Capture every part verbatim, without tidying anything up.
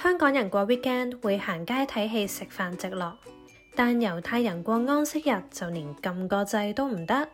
香港人過 weekend 會行街睇戲食飯直落，但猶太人過安息日就連撳個掣都唔得。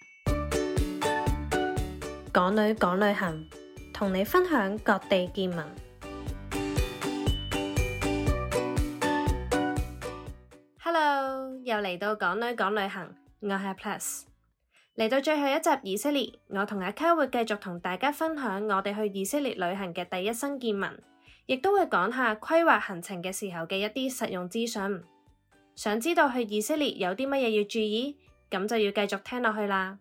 港女講旅行，同你分享各地見聞。Hello， 又嚟到港女講旅行，我係 Plus。嚟到最後一集以色列，我同阿卡會繼續同大家分享我哋去以色列旅行嘅第一身見聞，亦都會講下規劃行程嘅時候嘅一啲實用資訊。想知道去以色列有啲乜嘢要注意，咁就要繼續聽落去啦。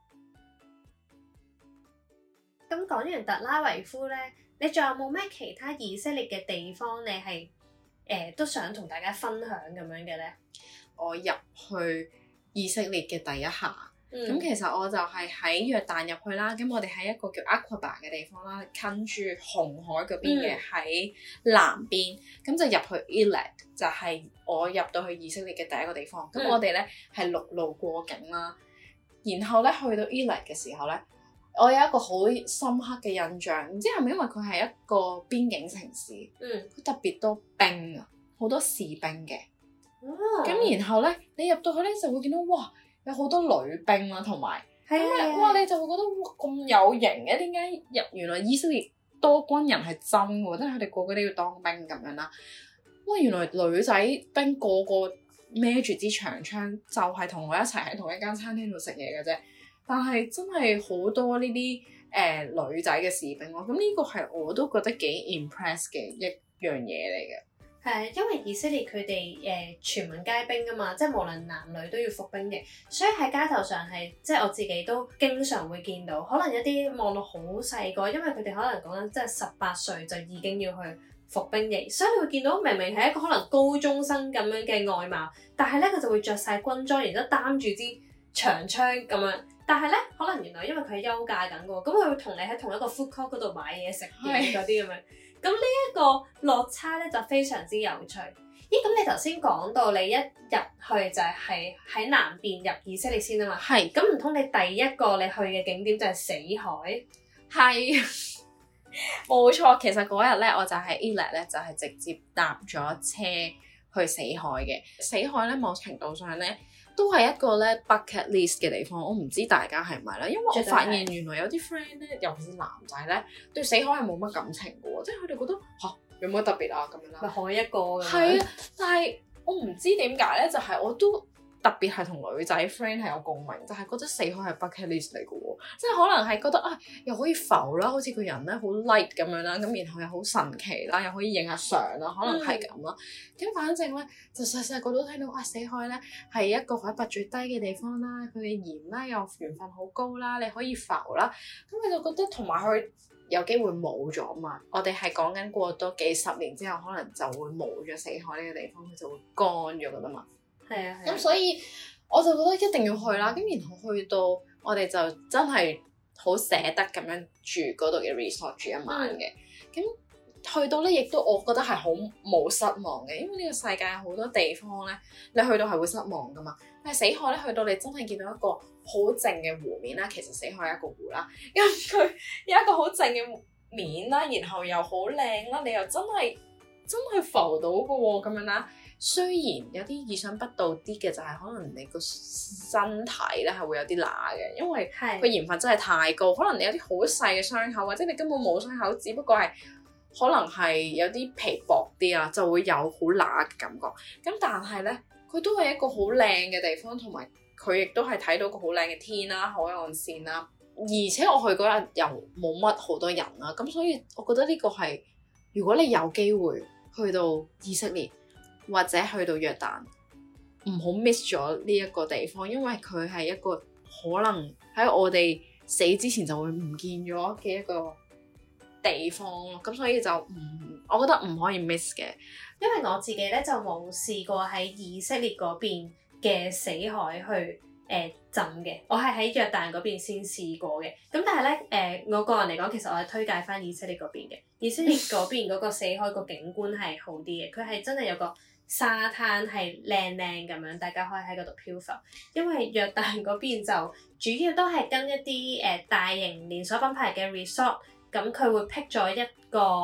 咁講完特拉維夫呢，你仲有冇咩其他以色列嘅地方你係誒、呃、都想同大家分享咁樣嘅呢？ 我入去以色列嘅第一下。咁、嗯、其實我就係喺約旦入去啦，咁我哋喺一個叫 Aqaba 嘅地方啦，近住紅海嗰邊嘅，喺、嗯、南邊，咁就入去 Eilat， 就係我入到去以色列嘅第一個地方。咁、嗯、我哋咧係陸路過境啦，然後咧去到 Eilat 嘅時候咧，我有一個好深刻嘅印象，唔知係咪因為佢係一個邊境城市，嗯，佢特別多兵啊，好多士兵嘅，咁、哦、然後咧你入到去咧就會見到哇！有好多女兵啦，同埋咁啊，哇！你就會覺得哇咁有型嘅，點解入原來以色列多軍人係真嘅，即係佢哋個個都要當兵咁樣啦。哇！原來女仔兵個個孭住支長槍，就係同我一齊喺同一間餐廳度食嘢嘅啫。但係真係好多呢啲誒女仔嘅士兵咯。咁呢個係我都覺得幾 impress 嘅一樣嘢嚟嘅。 係，因為以色列佢哋誒全民皆兵啊嘛，即係無論男女都要服兵役，所以喺街頭上係即係我自己都經常會見到，可能一啲望到好細個，因為佢哋可能講緊即係十八歲就已經要去服兵役，所以你會見到明明係一個可能高中生咁樣嘅外貌，但係咧佢就會着晒軍裝，然之後擔住支長槍咁樣，但係咧可能原來因為佢係休假緊嘅喎，咁佢會同你喺同一個 food court 嗰度買嘢食嘅嗰啲咁樣。咁呢一個落差咧就非常之有趣。咦，咁你頭先講到你一入去就係喺南邊入以色列先啊嘛？係。咁唔通你第一個你去嘅景點就係死海？ 係，冇錯。其實嗰日咧我就喺 Eilat 咧就係直接搭咗車去死海嘅。死海咧某程度上咧都係一個咧 bucket list 嘅地方，我唔知大家係咪啦，因為我發現原來有啲 friend 咧，尤其是男仔咧，對死海係冇乜感情嘅喎，即係佢哋覺得吓，有乜特別啊咁樣啦。咪海一個咁樣。係啊，但係我唔知點解咧，就係、是、我都特別係同女仔 friend 係有共鳴，就係、是、覺得死海係 bucket list 嚟嘅喎，即係可能係覺得啊，又可以浮啦，好似個人咧好 light 咁樣啦，咁然後又好神奇啦，又可以影下相啦，可能係咁啦。咁、嗯、反正咧，就細細個都聽到啊，死海咧係一個海拔最低嘅地方啦，佢嘅鹽啦又鹽分好高啦，你可以浮啦。咁佢就覺得同埋佢有機會冇咗嘛。我哋係講緊過多幾十年之後，可能就會冇咗死海呢個地方，佢就會乾咗噶啦嘛。係啊，咁所以我就覺得一定要去啦。咁然後去到我哋就真係好捨得咁樣住嗰度嘅 resort 住一晚嘅。咁、嗯、去到咧，亦都我覺得係好冇失望嘅，因為呢個世界有好多地方咧，你去到係會失望噶嘛。但係死海咧，去到你真係見到一個好靜嘅湖面啦。其實死海係一個湖啦，因為佢有一個好靜嘅面啦，然後又好靚啦，你又真係真係浮到嘅喎，咁樣啦。雖然有啲意想不到啲嘅，就係可能你個身體咧係會有啲乸嘅，因為佢鹽分真係太高，可能你有啲好細嘅傷口，或者你根本冇傷口，只不過係可能係有啲皮薄啲啊，就會有好乸嘅感覺。咁但係咧，佢都係一個好靚嘅地方，同埋佢亦都係睇到個好靚嘅天啦、海岸線啦。而且我去嗰日又冇乜好多人啦，咁所以我覺得呢個係如果你有機會去到以色列，或者去到約旦，唔好 miss 咗呢一個地方，因為佢係一個可能喺我哋死之前就會唔見咗嘅一個地方咯。咁所以就唔，我覺得唔可以 miss 嘅。 因為我自己咧就冇試過喺以色列嗰邊嘅死海去誒、呃、浸嘅，我係喺約旦嗰邊先試過嘅。咁但係咧誒，我個人嚟講，其實我係推介翻以色列嗰邊嘅。以色列嗰邊嗰個死海個景觀係好啲嘅，佢係真係有個沙灘係靚靚咁樣，大家可以喺嗰度漂浮。因為約旦嗰邊就主要都係跟一啲誒、呃、大型連鎖品牌嘅 resort，咁佢會 pick 咗一個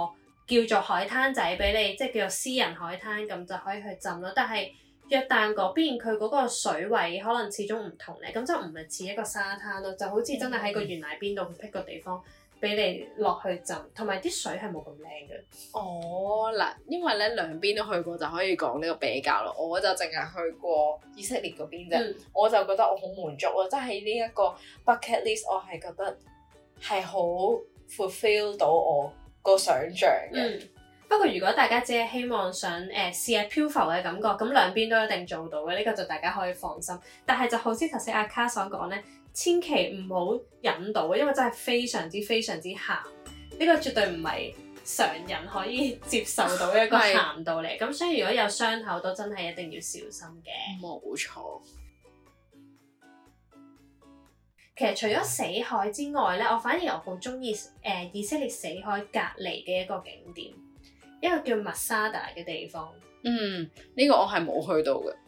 叫做海灘仔俾你，即係叫做私人海灘咁就可以去浸咯。但係約旦嗰邊佢嗰個水位可能始終唔同咧，咁就唔係似一個沙灘咯，就好似真係喺個懸崖邊度闢個地方俾你落去浸，同埋啲水係冇咁靚嘅。 哦，嗱，因為咧兩邊都去過，就可以講呢個比較咯。我就淨係去過以色列嗰邊啫，嗯、我就覺得我好滿足咯，即係呢一個 bucket list，我係覺得係好 fulfill 到我個想像嘅。嗯不過如果大家只係希望想誒、呃、試下漂浮嘅感覺，咁兩邊都一定做到嘅，呢、這個就大家可以放心。但係就好似頭先阿卡所講咧，千祈唔好飲到，因為真係非常之非常之鹹。呢、這個絕對唔係常人可以接受到嘅一個鹹度嚟。咁是所以如果有傷口都真係一定要小心嘅。 冇錯。 其實除咗死海之外咧，我反而我好中意誒以色列死海隔離嘅一個景點。一個叫 Masada 嘅地方， 嗯，呢、這個我係冇去到嘅。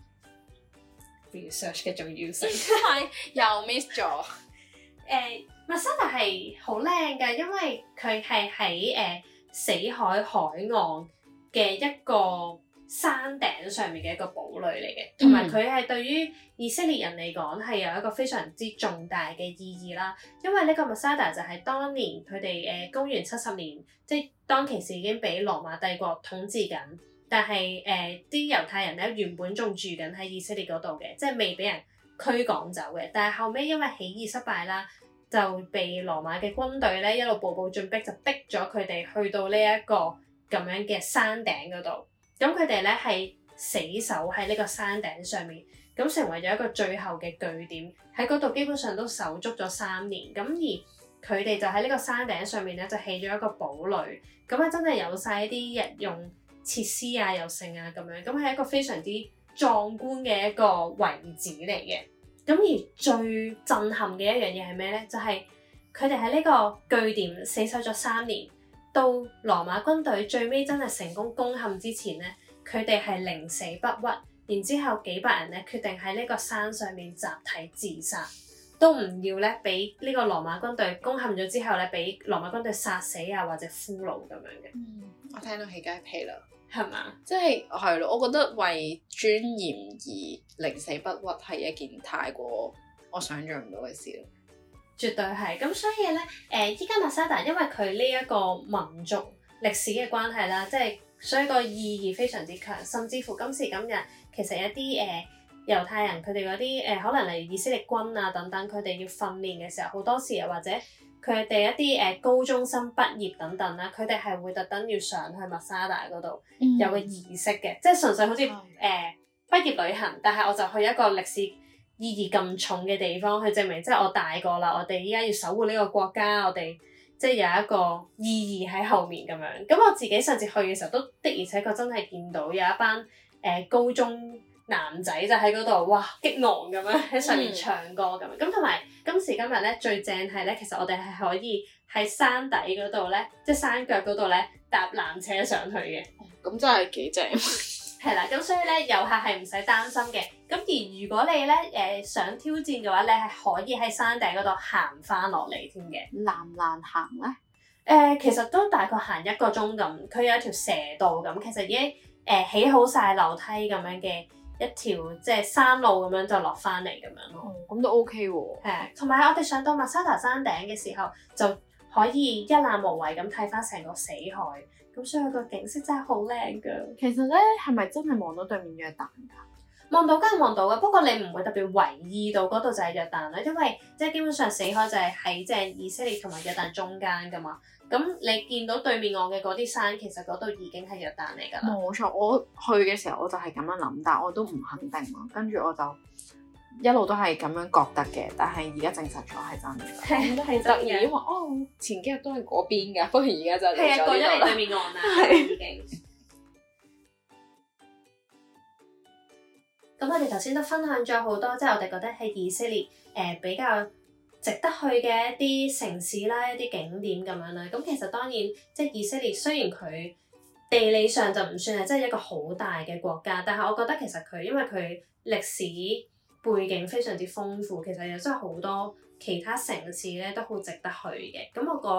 research 嘅重要性係又 miss 咗。誒、 呃、Masada 係好靚嘅，因為佢係喺誒死海海岸嘅一個山頂上面嘅一個堡壘嚟嘅，同埋佢係對於以色列人嚟講係有一個非常之重大嘅意義啦。因為呢個 Masada 就係當年佢哋誒公元七十年，即係當其時已經俾羅馬帝國統治緊，但係誒啲猶太人咧原本仲住緊喺以色列嗰度嘅，即係未俾人驅趕走嘅。但係後尾因為起義失敗啦，就被羅馬嘅軍隊咧一路步步進逼，就逼咗佢哋去到呢一個咁樣嘅山頂嗰度。咁佢哋咧係死守喺呢個山頂上面，咁成為咗一個最後嘅據點。喺嗰度基本上都守足咗三年。咁而佢哋就喺呢個山頂上面咧，就起咗一個堡壘。咁啊，真係有晒一啲日用設施啊，又剩啊咁樣。咁係一個非常之壯觀嘅一個遺址嚟嘅。咁而最震撼嘅一樣嘢係咩咧？就係佢哋喺呢個據點死守咗三年。到羅馬軍隊最尾真係成功攻陷之前咧，佢哋係寧死不屈，然之後幾百人咧決定喺呢個山上面集體自殺，都唔要咧俾呢個羅馬軍隊攻陷咗之後咧，俾羅馬軍隊殺死啊或者俘虜咁樣嘅。 嗯，我聽到起雞皮啦， 係嘛吧？ 即係係咯，我覺得為尊嚴而寧死不屈係一件太過我想象唔到嘅事咯。 絕對係，咁所以咧，誒依家 Masada 因為佢呢一個民族歷史嘅關係啦，即係所以個意義非常之強，甚至乎今時今日其實一啲誒、呃、猶太人佢哋嗰啲誒可能例如以色列軍啊等等，佢哋要訓練嘅時候，好多時又或者佢哋一啲誒、呃、高中生畢業等等啦，佢哋係會特登要上去 Masada 嗰度、嗯、有個儀式嘅，即係純粹好似誒、呃、畢業旅行，但係我就去一個歷史意義咁重嘅地方去證明，即係我大個啦，我哋依家要守護呢個國家，我哋即係有一個意義喺後面咁樣。咁我自己上次去嘅時候，都的而且確真係見到有一班誒、呃、高中男仔就喺嗰度，哇激昂咁樣喺上面唱歌咁樣。咁同埋今時今日咧，最正係咧，其實我哋係可以喺山底嗰度咧，即係山腳嗰度咧搭纜車上去嘅。 咁真係幾正。 係啦，咁所以咧遊客係唔使擔心嘅。咁而如果你咧誒、呃、想挑戰嘅話，你係可以喺山頂嗰度行翻落嚟添嘅。 難唔難行咧？誒、 呃，其實都大概行一個鐘咁。佢有一條蛇道咁，其實已經誒、呃、起好晒樓梯咁樣嘅一條即係山路咁樣就落翻嚟咁樣咯。 咁、嗯、都 OK 喎。 係，同埋我哋上到 Masada 山頂嘅時候，就可以一覽無遺咁睇翻成個死海。咁所以個景色真係好靚噶。 其實咧，係咪真係望到對面約旦噶？ 望到梗係望到噶，不過你唔會特別留意到嗰度就係約旦啦，因為即係基本上死海就係喺即係以色列同埋約旦中間噶嘛。咁你見到對面岸嘅嗰啲山，其實嗰度已經係約旦嚟噶啦。 冇錯，我去嘅時候我就係咁樣諗，但係我都唔肯定咯。跟住我就一路都係咁樣覺得嘅，但係而家證實咗係真嘅。 係都係真嘅， 因為哦前幾日都係嗰邊㗎，不過而家就嚟咗呢度啦。 係啊，過咗嚟對面岸啦，係已經。咁我哋頭先都分享咗好多，即係我哋覺得喺以色列誒、呃、比較值得去嘅一啲城市啦，一啲景點咁樣啦。咁其實當然即係以色列雖然佢地理上就唔算係真係一個好大嘅國家，但係我覺得其實佢因為佢歷史背景非常之豐富，其實又真係好多其他城市咧都好值得去嘅。咁我個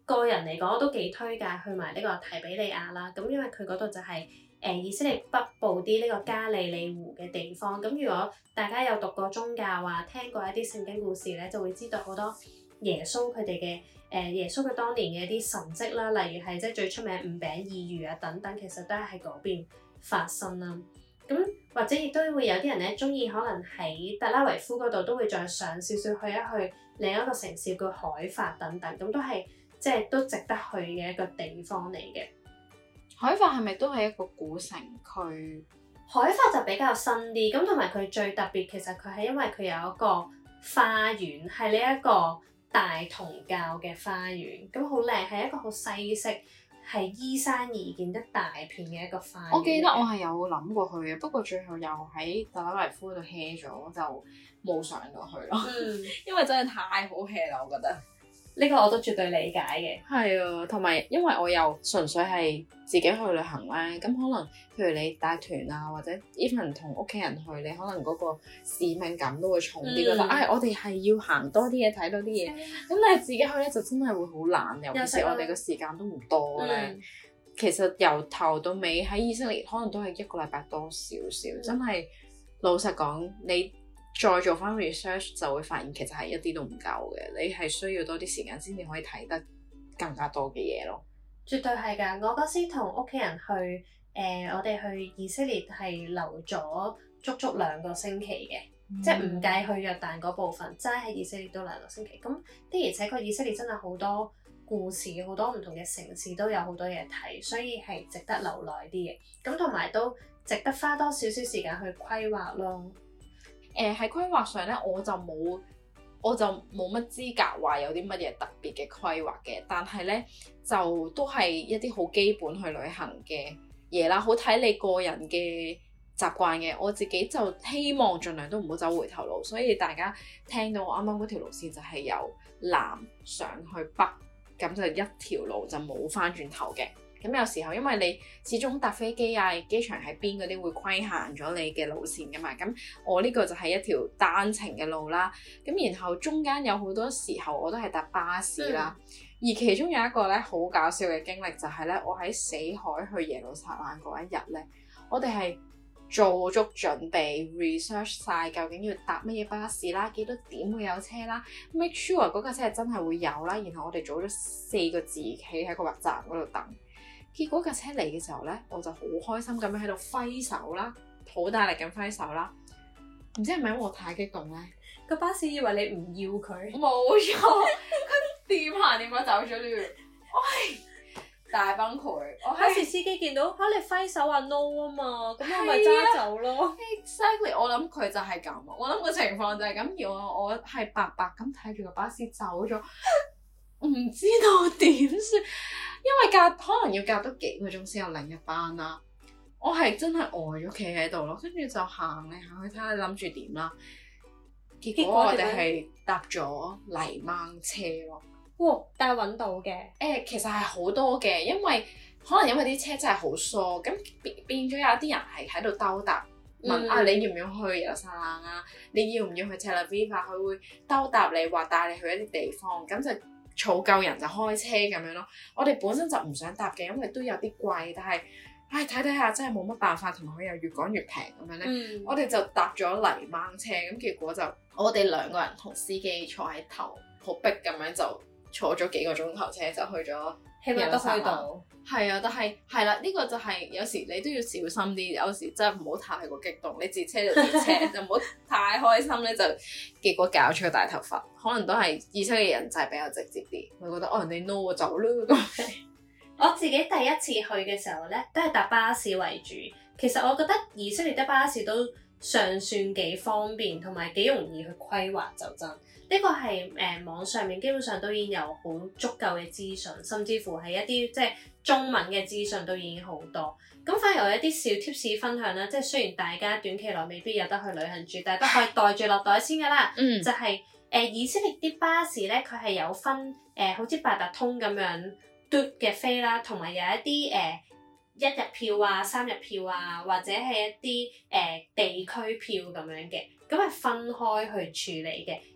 個人嚟講，我都幾推介去埋呢個提比利亞啦。咁因為佢嗰度就係、是、誒、呃、以色列北部啲呢個加利利湖嘅地方。咁如果大家有讀過宗教啊，聽過一啲聖經故事咧，就會知道好多耶穌佢哋嘅誒耶穌佢當年嘅一啲神蹟啦，例如係即係最出名五餅二魚啊等等，其實都係喺嗰邊發生啦。咁或者亦都會有啲人咧中意，可能喺特拉維夫嗰度都會再上少少去一去另一個城市叫海法等等，咁都係即係都值得去嘅一個地方嚟嘅。 海法係咪都係一個古城區？ 海法就比較新啲，咁同埋佢最特別，其實佢係因為佢有一個花園，係呢一個大同教嘅花園，咁好靚，係一個好西式，係依山而建得大片嘅一個花園。 我記得我係有諗過去嘅，不過最後又喺特拉維夫度 hea 咗，就冇上到去咯。 嗯， 因為真係太好 hea 啦，我覺得。 呢個我都絕對理解嘅。係啊，同埋因為我又純粹係自己去旅行咧，咁可能譬如你帶團啊，或者 even 同屋企人去，你可能嗰個使命感都會重啲，覺得唉，我哋係要行多啲嘢，睇多啲嘢。咁但係自己去咧就真係會好懶，尤其是我哋個時間都唔多咧。嗯、其實由頭到尾喺以色列可能都係一個禮拜多少少，嗯、真係老實講你。再做翻 research 就會發現其實係一啲都唔夠嘅，你係需要多啲時間先至可以睇得更加多嘅嘢咯。絕對係㗎！我嗰時同屋企人去，誒、呃、我哋去以色列係留咗足足兩個星期嘅，嗯、即係唔計去約旦嗰部分，齋喺以色列都兩個星期。咁的而且確以色列真係好多故事，好多唔同嘅城市都有好多嘢睇，所以係值得留耐啲嘅。咁同埋都值得花多少少時間去規劃咯。誒喺規劃上咧，我就冇我就冇乜資格話有啲乜嘢特別嘅規劃嘅，但係咧就都係一啲好基本去旅行嘅嘢啦，好睇你個人嘅習慣嘅。我自己就希望盡量都唔好走回頭路，所以大家聽到我啱啱嗰條路線就係由南上去北，咁就一條路就冇返轉頭嘅。咁有時候因為你始終搭飛機啊，機場喺邊嗰啲會規限咗你嘅路線噶嘛，咁我呢個就係一條單程嘅路啦。咁然後中間有好多時候我都係搭巴士啦，嗯、而其中有一個咧好搞笑嘅經歷就係咧，我喺死海去耶路撒冷嗰一日咧，我哋係做足準備 research 晒究竟要搭乜嘢巴士啦，幾多點會有車啦 ，make sure 嗰架車係真係會有啦。然後我哋早咗四個字企喺個站嗰度等。結果架車嚟嘅時候咧，我就好開心咁樣喺度揮手啦，好大力咁揮手啦。唔知係咪因為我太激動咧？個巴士以為你唔要佢，冇錯，佢掂下掂下走咗了。喂，大崩潰！我巴士司機見到嚇你揮手話 no 啊嘛，咁我咪揸走咯。Exactly，我諗佢就係咁，我諗個情況就係咁。而我我係白白咁睇住個巴士走咗，唔知道點算。因為隔可能要隔多幾個鐘先有另一班啦，我係真係呆咗企喺度咯，跟住就行嚟行去睇下諗住點啦。結果我哋係搭咗泥掹車咯。哇！但係揾到嘅。誒、欸，其實係好多嘅，因為可能因為啲車真係好疏，咁變變咗有啲人係喺度兜搭問、嗯、啊，你要唔要去耶路撒冷啊？你要唔要去 Tel Aviv？佢會兜搭你話帶你去一啲地方，咁就。儲夠人就開車咁樣咯，我哋本身就唔想搭嘅，因為都有啲貴，但係唉睇睇下真係冇乜辦法，同埋佢又越講越平咁樣咧，嗯、我哋就搭咗泥掹車，咁結果就我哋兩個人同司機坐喺頭，好逼咁樣就坐咗幾個鐘頭車就去咗，起碼都去到。係啊，但係係啦，呢、呢個就係有時你都要小心啲，有時真係唔好太過激動，你截車就截車，就唔好太開心咧，就結果搞出個大頭髮，可能都係以色列人就係比較直接啲，會覺得哦人哋 no 我走啦咁。我自己第一次去嘅時候咧，都係搭巴士為主。其實我覺得以色列的巴士都尚算幾方便，同埋幾容易去規劃就真。呢個係誒、呃、網上面基本上都已經有好足夠嘅資訊，甚至乎係一啲即係中文嘅資訊都已經好多。咁反而我有一啲小 tips 分享啦，即係雖然大家短期內未必有得去旅行住，但係都可以袋住落袋先噶啦。嗯，就係、是、誒、呃、以色列啲巴士咧，佢係有分誒、呃、好似八達通咁樣嘟嘅飛啦，同埋有一啲誒、呃、一日票啊、三日票啊，或者係一啲誒、呃、地區票咁樣嘅，咁係分開去處理嘅。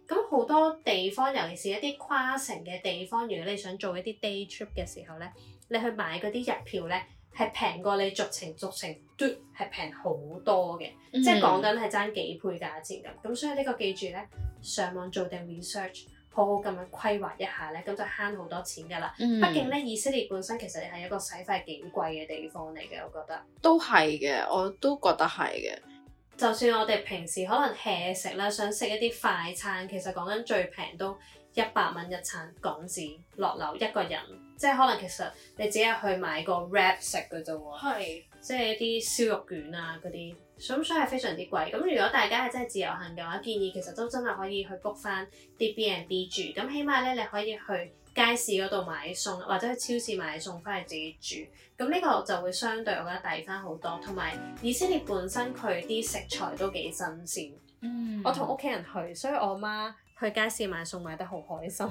咁好多地方，尤其是一啲跨城嘅地方，如果你想做一啲 day trip 嘅時候咧，你去買嗰啲日票咧，係平過你逐程逐程嘟係平好多嘅，嗯、即係講緊係爭幾倍價錢咁。咁所以呢個記住咧，上網做定 research，好好咁樣規劃一下咧，咁就慳好多錢㗎啦。嗯、畢竟咧，以色列本身其實係一個使費幾貴嘅地方嚟嘅，我覺得。 都係嘅，我都覺得係嘅。 就算我哋平時可能 hea 食啦，想食一啲快餐，其實講緊最平都一百蚊一餐港紙落樓一個人，即係可能其實你只係去買個 wrap 食嘅啫喎，係即係一啲燒肉卷啊嗰啲，咁所以係非常之貴。咁如果大家係真係自由行嘅話，建議其實都真係可以去 book 翻啲 B and B 住，咁起碼咧你可以去街市嗰度買餸，或者去超市買餸翻嚟自己煮，咁呢個就會相對我覺得抵翻好多。同埋以色列本身佢啲食材都幾新鮮，嗯，我同屋企人去，所以我媽去街市買餸買得好開心。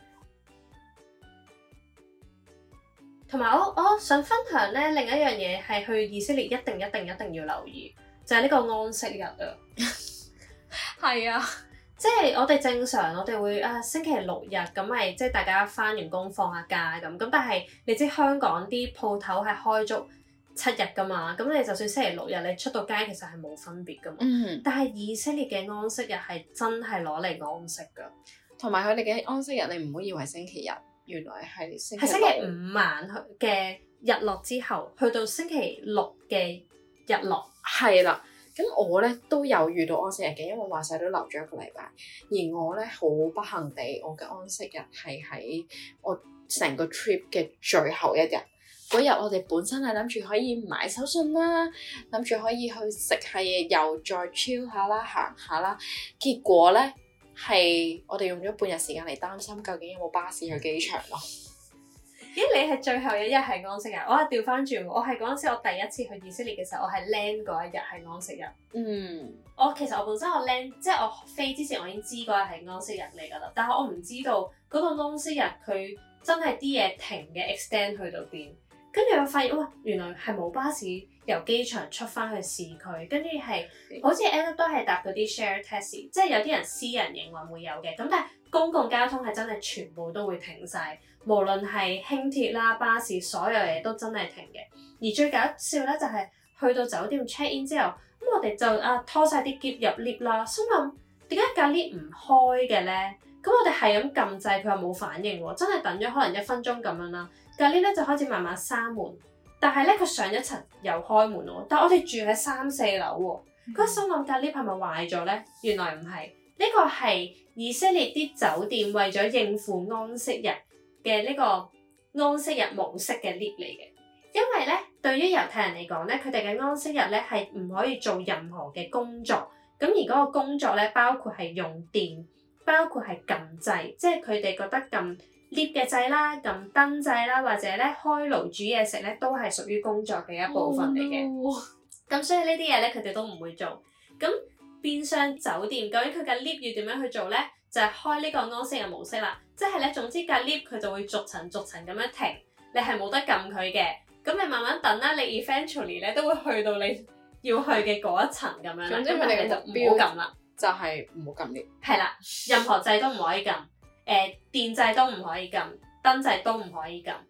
同埋我我想分享咧，另一樣嘢係去以色列一定一定一定要留意，就係呢個安息日啊。係啊。即係我哋正常，我哋會啊星期六日咁咪即係大家返完工放下假咁，咁但係你知香港啲鋪頭係開足七日噶嘛，咁你就算星期六日你出到街其實係冇分別噶嘛。嗯。但係以色列嘅安息日係真係攞嚟安息噶，同埋佢哋嘅安息日你唔好以為星期日，原來係星期係星期五晚嘅日落之後，去到星期六嘅日落。係啦。咁我咧都有遇到安息日嘅，因為話晒都留咗一個禮拜。而我咧好不幸地，我嘅安息日係喺我成個 trip 嘅最後一日。嗰日我哋本身係諗住可以買手信啦，諗住可以去食下嘢，又再 chill 下啦，行下啦。結果咧係我哋用咗半日時間嚟擔心究竟有冇巴士去機場咯。咦？你係最後一日係安息日，我係調翻轉，我係嗰陣時我第一次去以色列嘅時候，我係 land 嗰一日係安息日。嗯，我其實我本身我 land 即係我飛之前我已經知嗰日係安息日嚟㗎啦，但係我唔知道嗰個安息日佢真係啲嘢停嘅 extend 去到邊，跟住我發現哇，原來係冇巴士由機場出翻去市區，跟住係好似 end up 都係搭嗰啲 share taxi，即係有啲人私人營運會有嘅，咁但係公共交通係真係全部都會停晒。無論係輕鐵啦、巴士，所有嘢都真係停嘅。而最搞笑咧就係、是、去到酒店 check in 之後，咁我哋就啊拖晒啲喼入 lift 啦，心諗點解架 lift 唔開嘅咧？咁我哋係咁撳掣，佢又冇反應喎，真係等咗可能一分鐘咁樣啦。架 lift 咧就開始慢慢閂門，但係咧佢上一層又開門喎。但係我哋住喺三四樓喎，嗰、嗯、心諗架 lift 係咪壞咗咧？原來唔係，呢個係以色列啲酒店為咗應付安息日嘅呢個安息日模式嘅 lift 嚟嘅，因為咧對於猶太人嚟講咧，佢哋嘅安息日咧係唔可以做任何嘅工作，咁而嗰個工作咧包括係用電，包括係撳掣，即係佢哋覺得撳 lift 嘅掣啦、撳燈掣啦，或者咧開爐煮嘢食咧，都係屬於工作嘅一部分嚟嘅。咁、oh, no. 所以呢啲嘢咧，佢哋都唔會做。咁變相酒店究竟佢嘅 lift 要點樣去做咧？就係開呢個安息日模式啦，即係咧，總之架 lift 佢就會逐層逐層咁樣停，你係冇得撳佢嘅，咁你慢慢等啦，你 eventually 咧都會去到你要去嘅嗰一層咁樣啦。總之佢哋就唔好撳啦，就係唔好撳 lift。係啦，任何掣都唔可以撳，誒、呃、電掣都唔可以撳，燈掣都唔可以撳。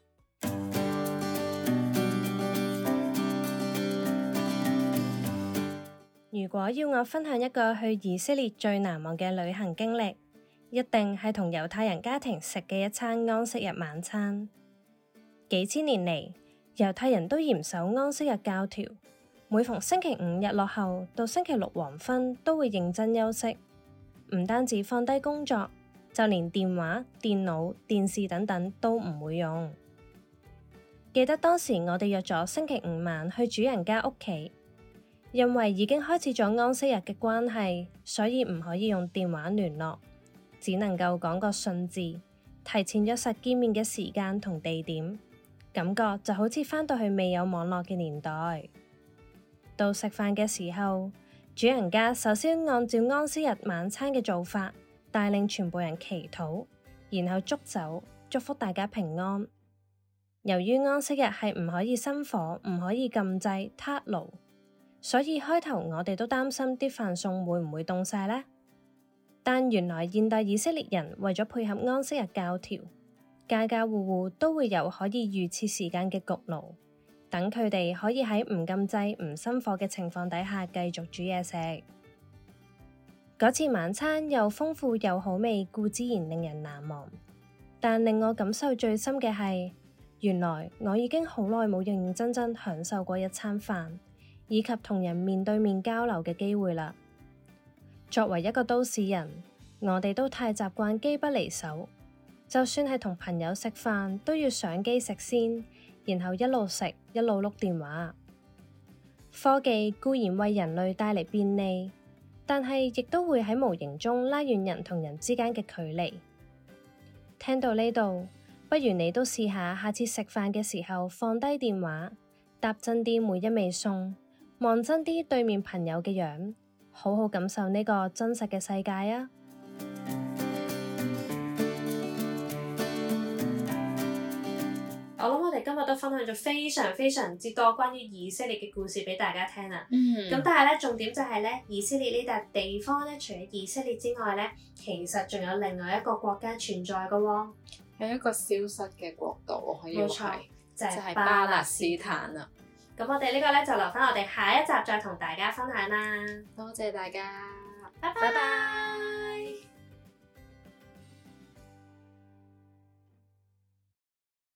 如果要我分享一個去以色列最難忘嘅旅行經歷，一定係同猶太人家庭食嘅一餐安息日晚餐。幾千年嚟，猶太人都嚴守安息日教條，每逢星期五日落後到星期六黃昏都會認真休息，唔單止放低工作，就連電話、電腦、電視等等都唔會用。記得當時我哋約咗星期五晚去主人家屋企。因為已經開始咗安息日嘅關係，所以唔可以用電話聯絡，只能夠講個信字，提前約實見面嘅時間同地點，感覺就好似返到去未有網絡嘅年代。到食飯嘅時候，主人家首先按照安息日晚餐嘅做法，帶領全部人祈禱，然後祝酒，祝福大家平安。由於安息日係唔可以生火，唔可以禁制撻爐，所以開頭我哋都擔心啲飯餸會唔會凍晒呢？ 但原來現代以色列人為咗配合安息日教條，家家戶戶都會有可以預設時間嘅焗爐，等佢哋可以喺唔禁制、唔生火嘅情況底下繼續煮嘢食。嗰次晚餐又豐富又好味，固之然令人難忘。但令我感受最深嘅係，原來我已經好耐冇認認真真享受過一餐飯，以及同人面對面交流嘅機會啦。作為一個都市人，我哋都太習慣機不離手，就算係同朋友食飯，都要上機食先，然後一路食一路碌電話。科技固然為人類帶嚟便利，但係亦都會喺無形中拉遠人同人之間嘅距離。聽到呢度，不如你都試下，下次食飯嘅時候放低電話，搭真啲每一味餸，望真啲對面朋友嘅樣，好好感受呢個真實嘅世界啊！ 我諗我哋今日都分享咗非常非常之多關於以色列嘅故事俾大家聽啦。咁、嗯、但係咧，重點就係咧，以色列呢笪地方咧，除咗以色列之外咧，其實仲有另外一個國家存在噶喎。 係一個消失嘅國度，可以話係， 就係、 係巴勒斯坦啦。 咁我哋呢個咧就留翻我哋下一集再同大家分享啦。 多謝大家， 拜拜。